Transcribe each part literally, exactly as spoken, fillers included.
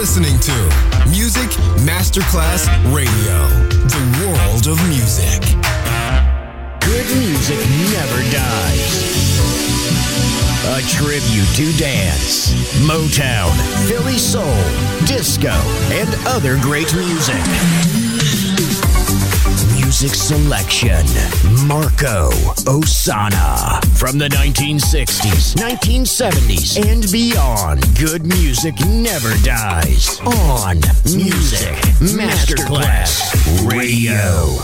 listening to Music Masterclass Radio, the world of music. Good music never dies. A tribute to dance, Motown, Philly soul, disco, and other great music. Music selection, Marco Ossanna. From the nineteen sixties, nineteen seventies, and beyond, good music never dies. On Music Masterclass Radio.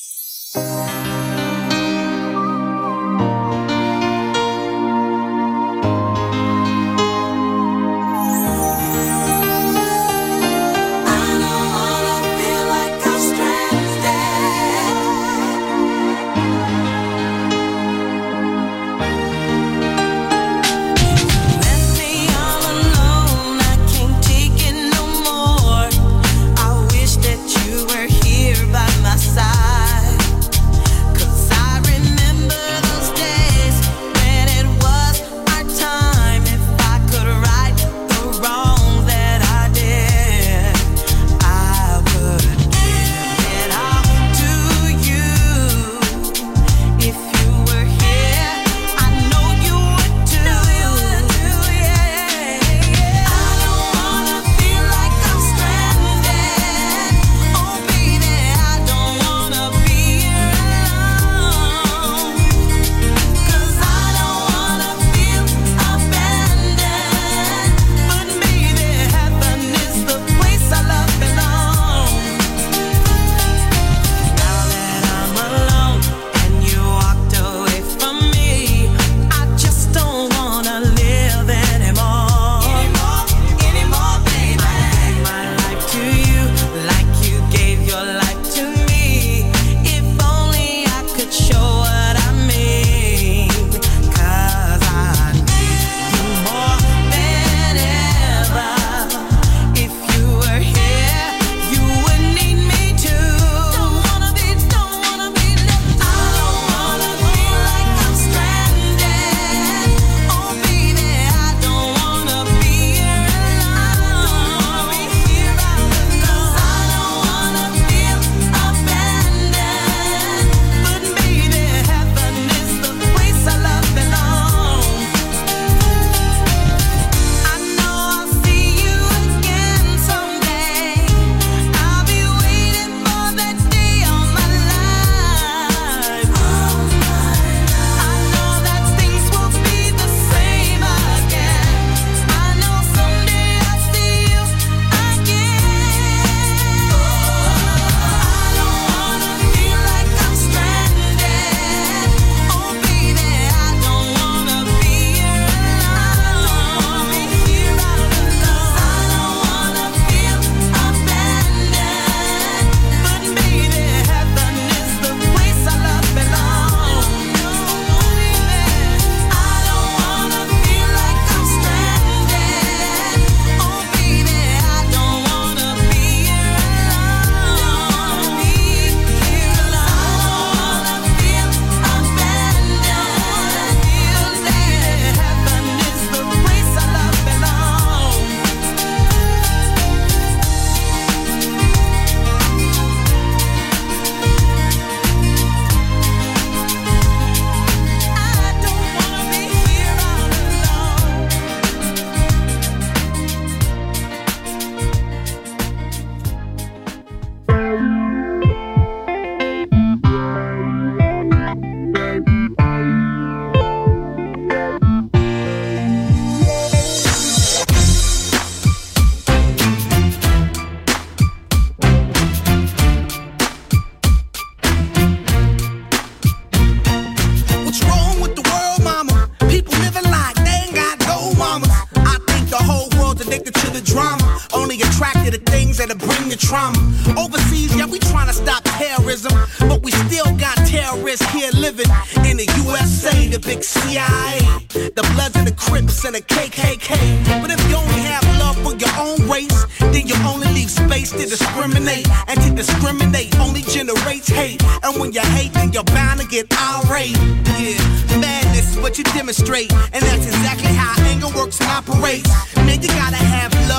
What you demonstrate, and that's exactly how anger works and operates. Man, you gotta have love, this is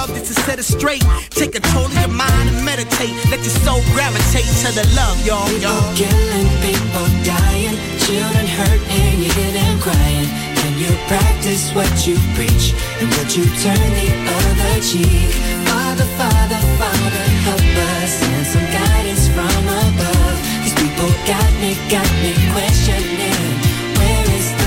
set it straight. Take control of your mind and meditate. Let your soul gravitate to the love, y'all. People killing, people dying, children hurt and you hear them crying. Can you practice what you preach? And would you turn the other cheek? Father, Father, Father, help us. Send some guidance from above. These people got me, got me questioning. Where is the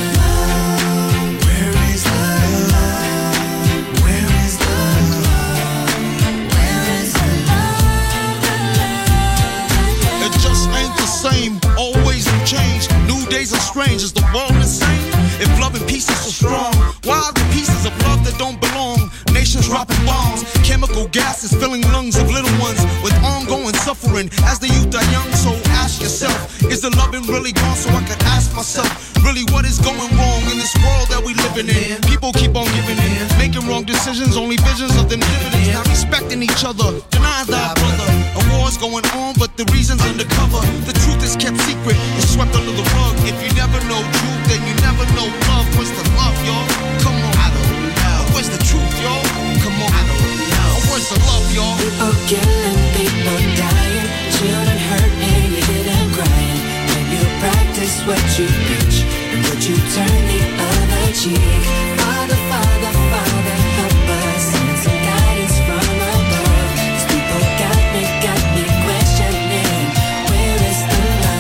love? Where is the love? Where is the love? Where is the love? The love, the love. It just ain't the same. Always a change. New days are strange. Is the world insane? If love and peace is so strong, why are the pieces of love that don't belong? Nations dropping bombs, chemical gases filling lungs of little ones with ongoing suffering as the youth are young. So ask yourself, is the loving really gone? So I could ask myself, really what is going wrong in this world that we living in? People keep on giving in, making wrong decisions, only visions of them dividends. Not respecting each other, denying thy brother. A war's going on, but the reason's undercover. The truth is kept secret, it's swept under the rug. If you never know truth, then you never know love. Where's the love, y'all? Come on, I don't know. Where's the truth, y'all? Come on, I don't know. Where's the love, y'all? People killing, people dying, children hurt and you hear them crying. When you practice what you preach, and would you turn the other cheek? Father, Father, Father, help us. Send some guidance from above. These people got me, got me questioning. Where is the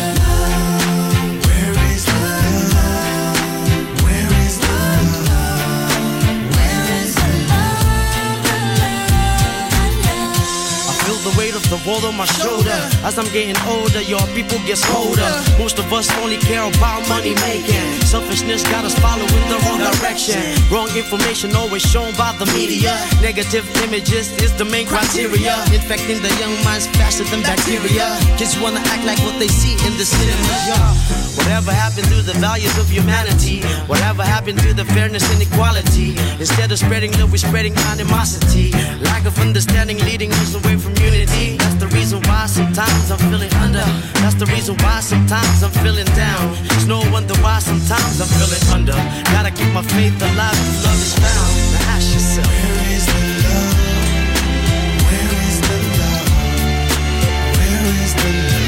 love? Where is the love? Where is the love? Where is the love? The love, the love. I feel the weight of the world on my shoulder. As I'm getting older, your people get colder. Most of us only care about money making. Selfishness got us following the wrong direction. Wrong information always shown by the media. Negative images is the main criteria. Infecting the young minds faster than bacteria. Kids wanna act like what they see in the cinema. Yeah. Whatever happened to the values of humanity? Whatever happened to the fairness and equality? Instead of spreading love, we're spreading animosity. Lack of understanding leading us away from unity. That's the reason why sometimes I'm feeling under. That's the reason why sometimes I'm feeling down. It's no wonder why sometimes I'm feeling under. Gotta keep my faith alive if love is found. Now ask yourself, where is the love? Where is the love? Where is the love?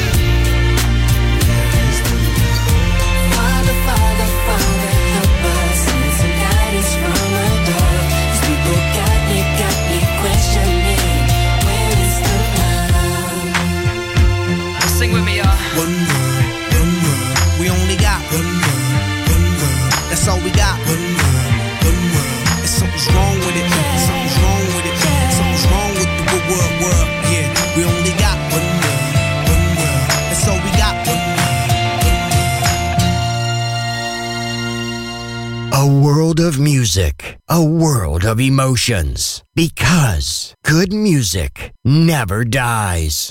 Where is the love? Father, Father, Father, help us. Send some guidance from above. These people got me, got me questioning. Where is the love? sing with me, y'all. One world, one world. We only got one world, one world. That's all we got. One world, one world. And something's wrong with it. Something's wrong with it. Something's wrong with the good world, world. Yeah, we only got one world, one world. That's all we got. One world, one world. A world of music, a world of emotions. Because good music never dies.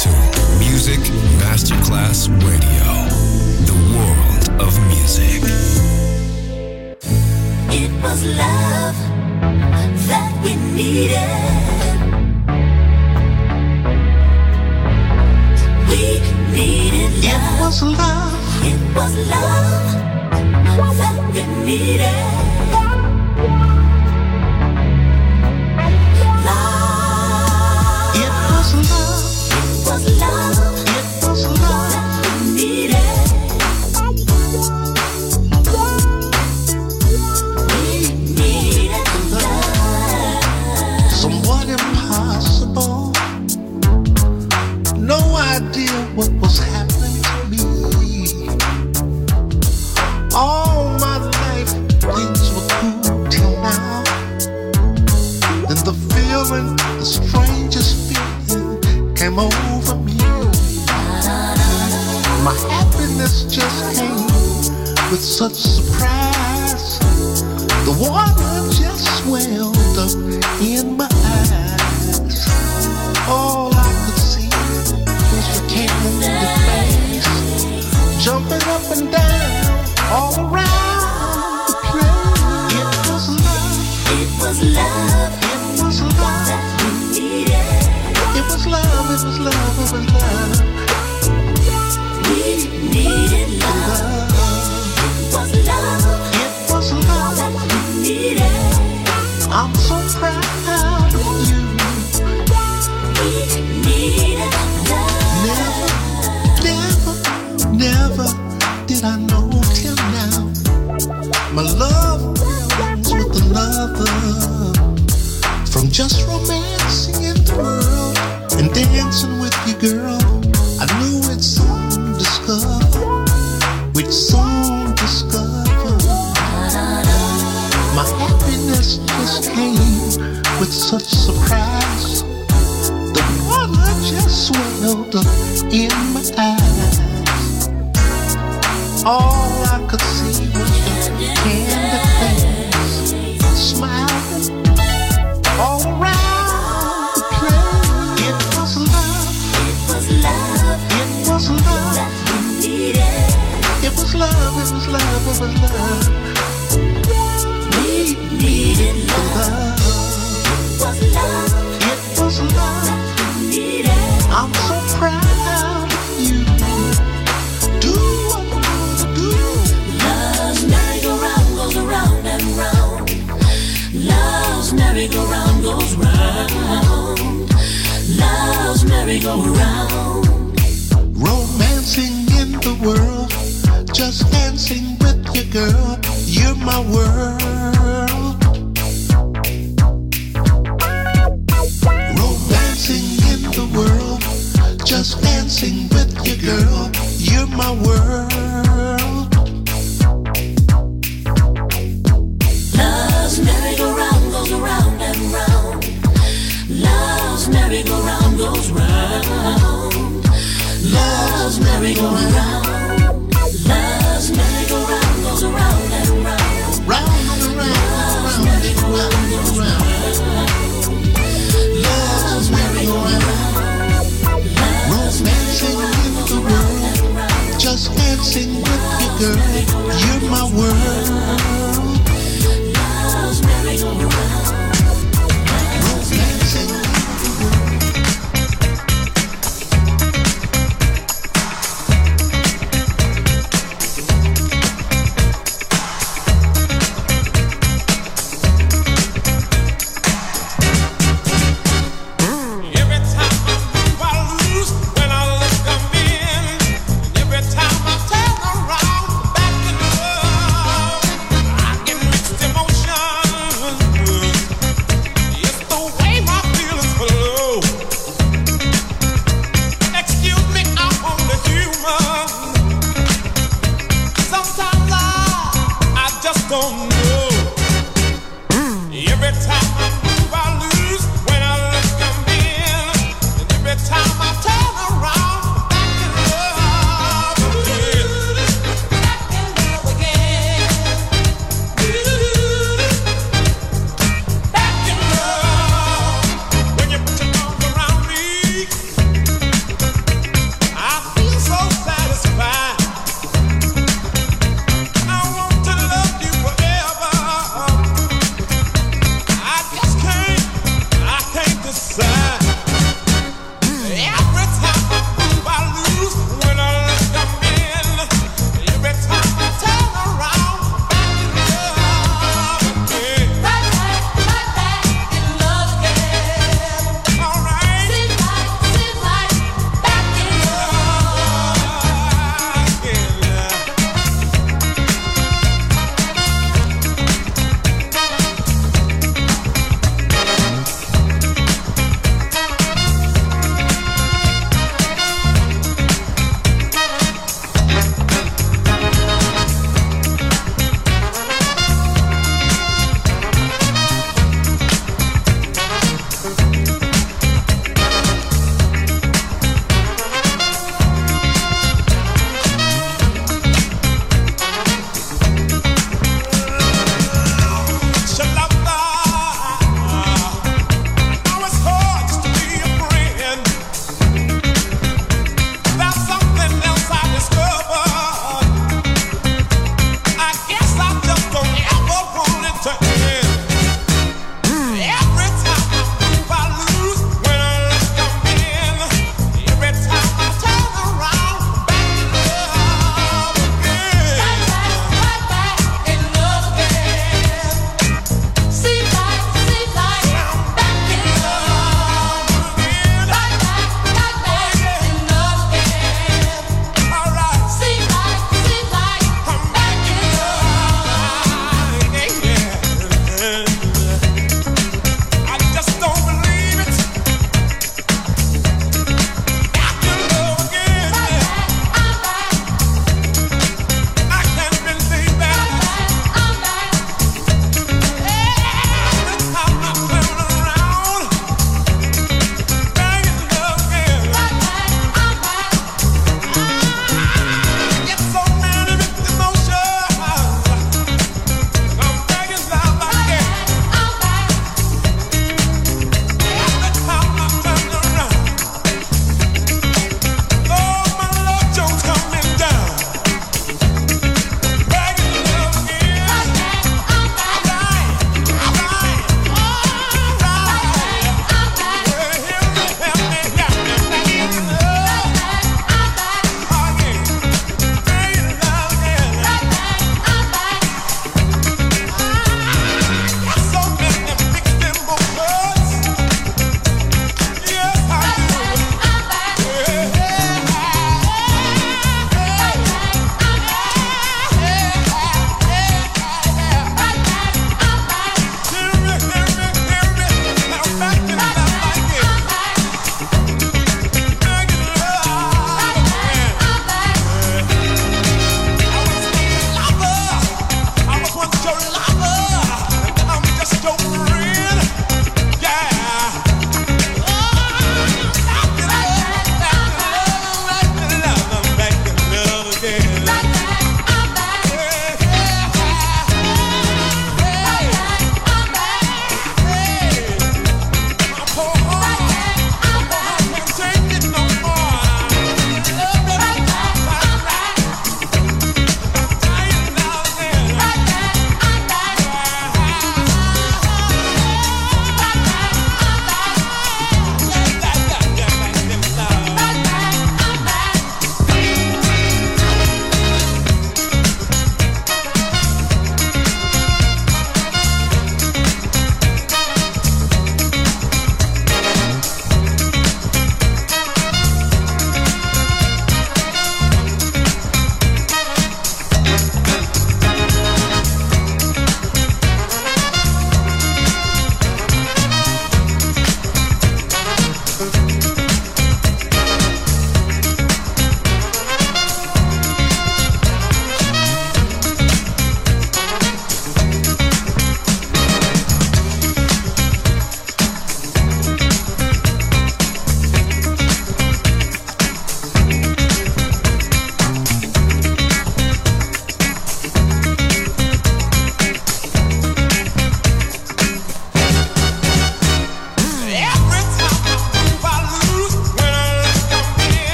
to Music Masterclass Radio, the world of music. It was love that we needed. We needed love. It was love. It was love that we needed. Love. It was love. It was love. It was love that we needed. We needed love. Somewhat impossible. No idea what was happening to me. All my life things were cool till now. Then the feeling, the strangest feeling came over me. My happiness just came with such surprise. The water just swelled up in my eyes. All I could see was your candid face, jumping up and down all around the place. It was love. It was love. It was love. That we needed. It was love. It was love. It was love. We needed love. It was love. It was love that we needed. I'm so proud of you. We needed Never, love. never, never did I know till now. My love belongs with another. From just romancing in the world and dancing with you, girl, I knew we'd soon discover, we'd soon discover. My happiness just came with such surprise. The water just swelled up in my eyes. All I could see was your candid face, smiling all around the place. It was love. It was love It was love. that we needed. It was love. It was love. It was love. We needed love. Love. It was love It was love. that we needed. I'm so proud of you. Do what you wanna do. Love's merry-go-round goes around and round. Love's merry-go-round goes round. Love's merry-go-round. Romancing in the world, just dancing with your girl. You're my world. Romancing in the world, just dancing with your girl. You're my world. Love's merry-go-round goes around and round. Love's merry-go-round goes round. Love's merry-go-round. Love's merry-go-round goes around and round. Round and around, Love's round and merry-go-round round goes and round. round. Love's merry-go-round. Romancing in the world, just dancing with your girl. You're my world. Love's merry-go-round. Romancing in the world. Every time I move, I lose. When I look, I'm in. Every time I turn around, back in love, I get mixed emotions. It's the way my feelings flow. Excuse me, I'm only human. Sometimes I, I just don't know. Every time I move, I lose. When I look, I'm in. And every time I turn around, back in love again. Back in love again. Back in love. When you put your arms around me,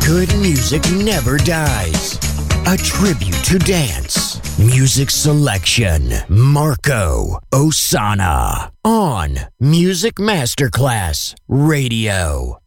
Good music never dies. A tribute to dance. Music selection. Marco Ossanna. On Music Masterclass Radio.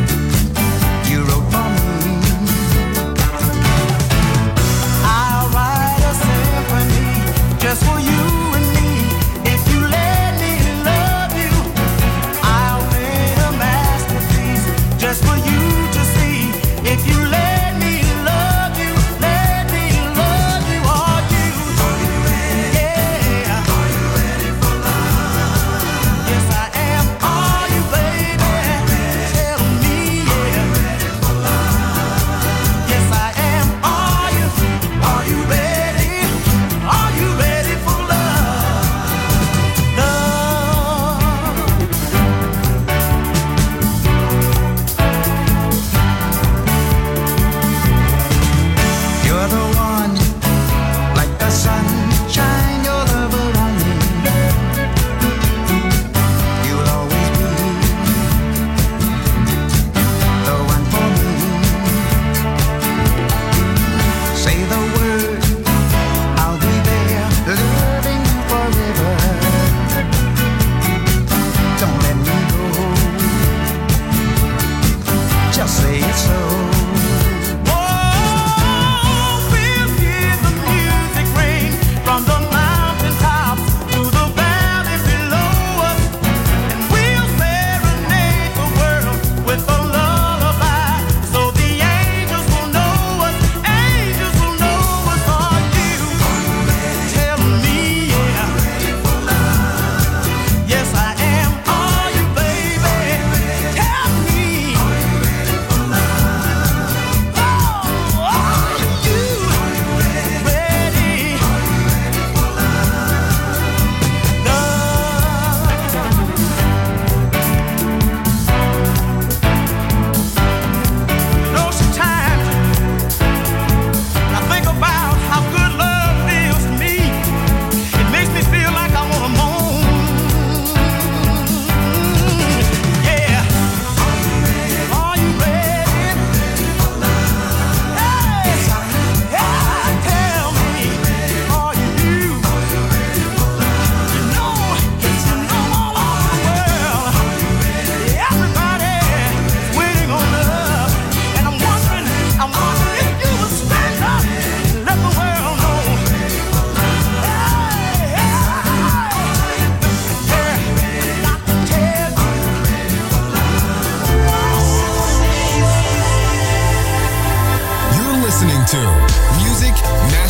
I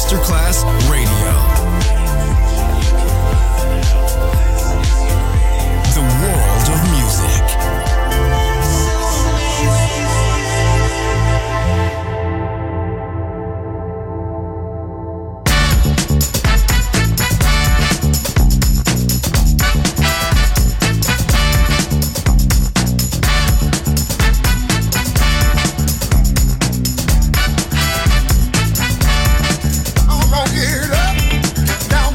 Masterclass Radio. The world of music. I'm gonna get up, down.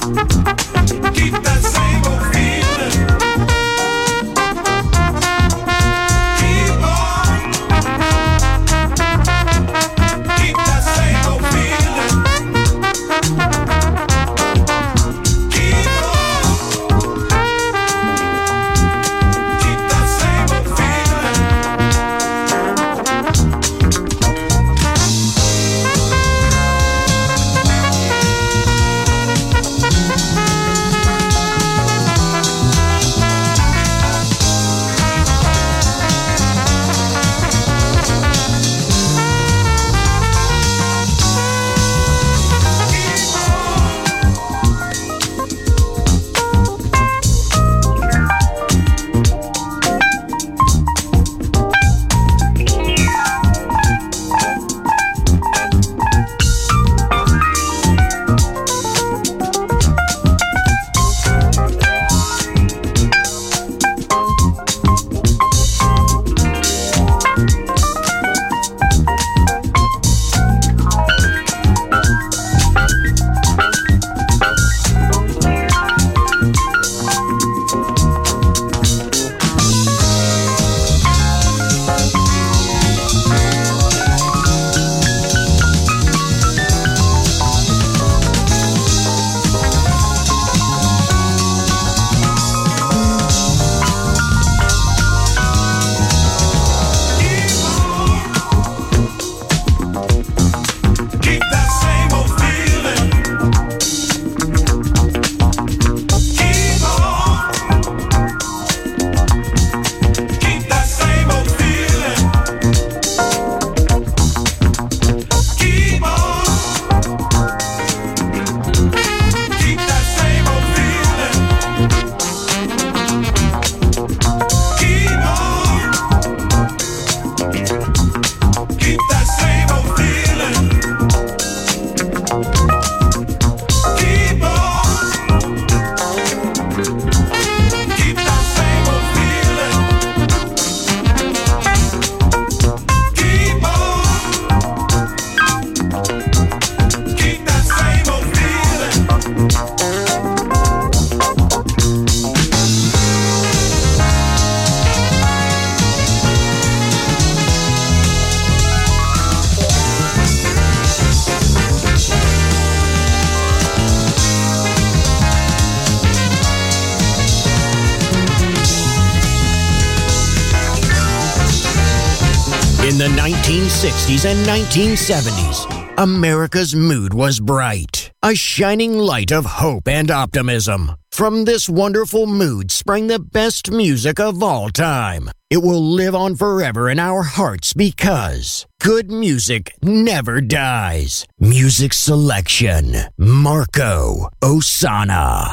In the nineteen sixties and nineteen seventies, America's mood was bright, a shining light of hope and optimism. From this wonderful mood sprang the best music of all time. It will live on forever in our hearts because good music never dies. Music selection, Marco Ossanna.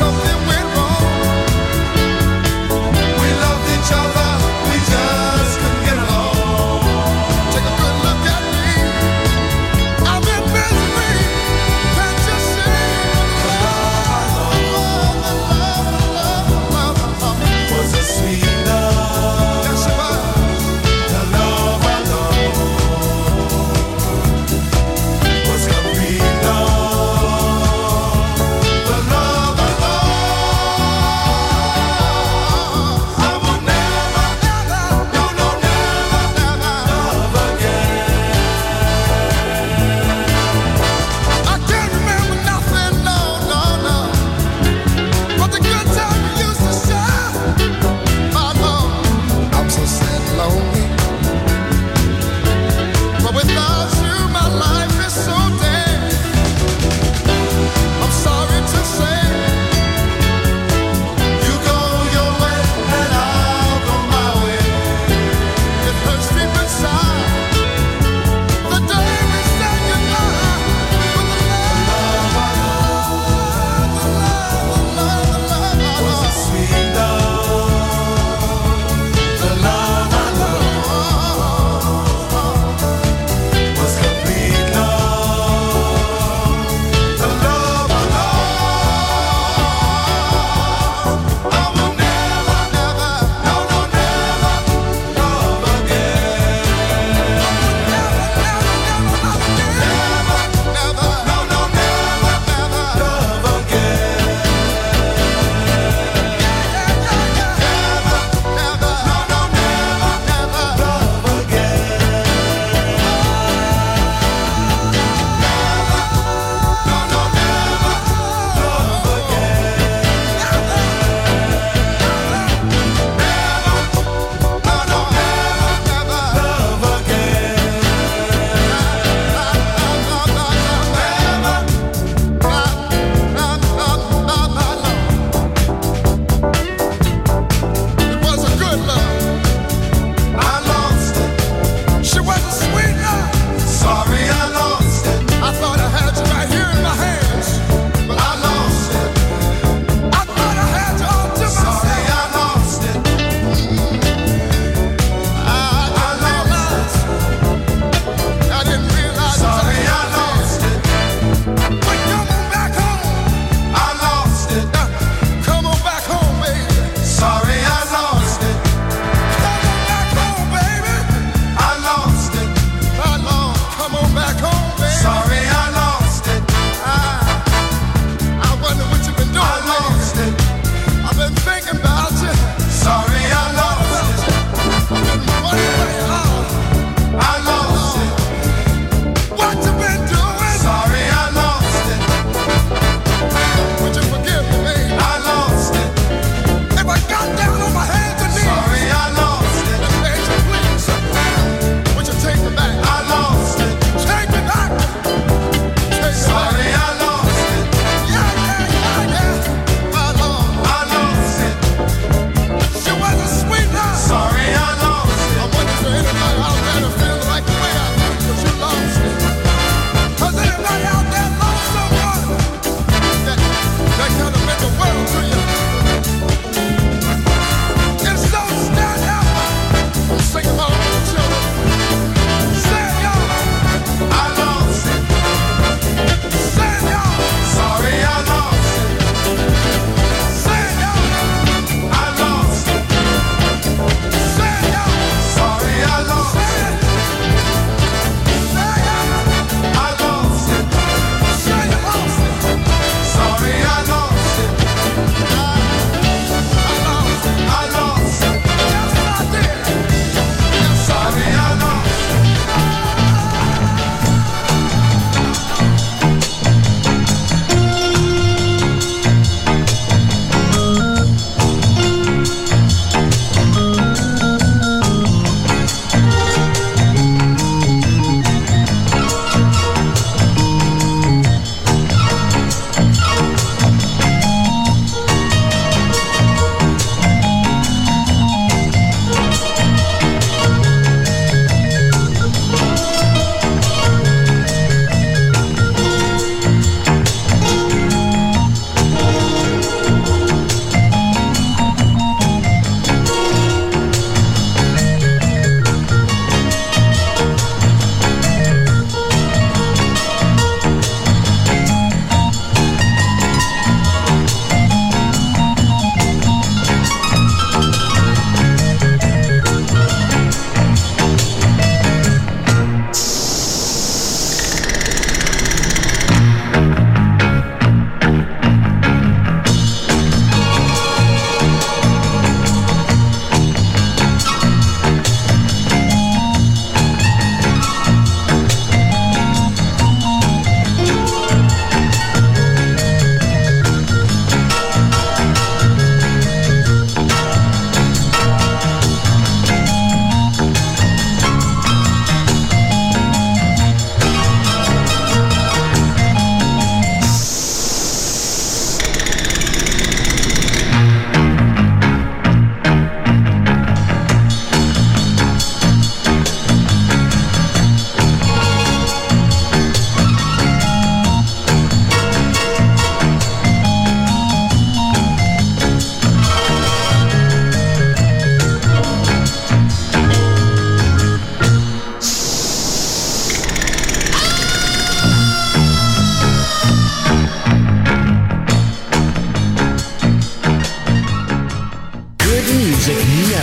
The love, the love.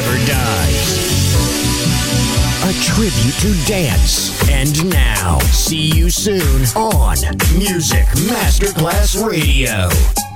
never dies. A tribute to dance. And now, see you soon on Music Masterclass Radio.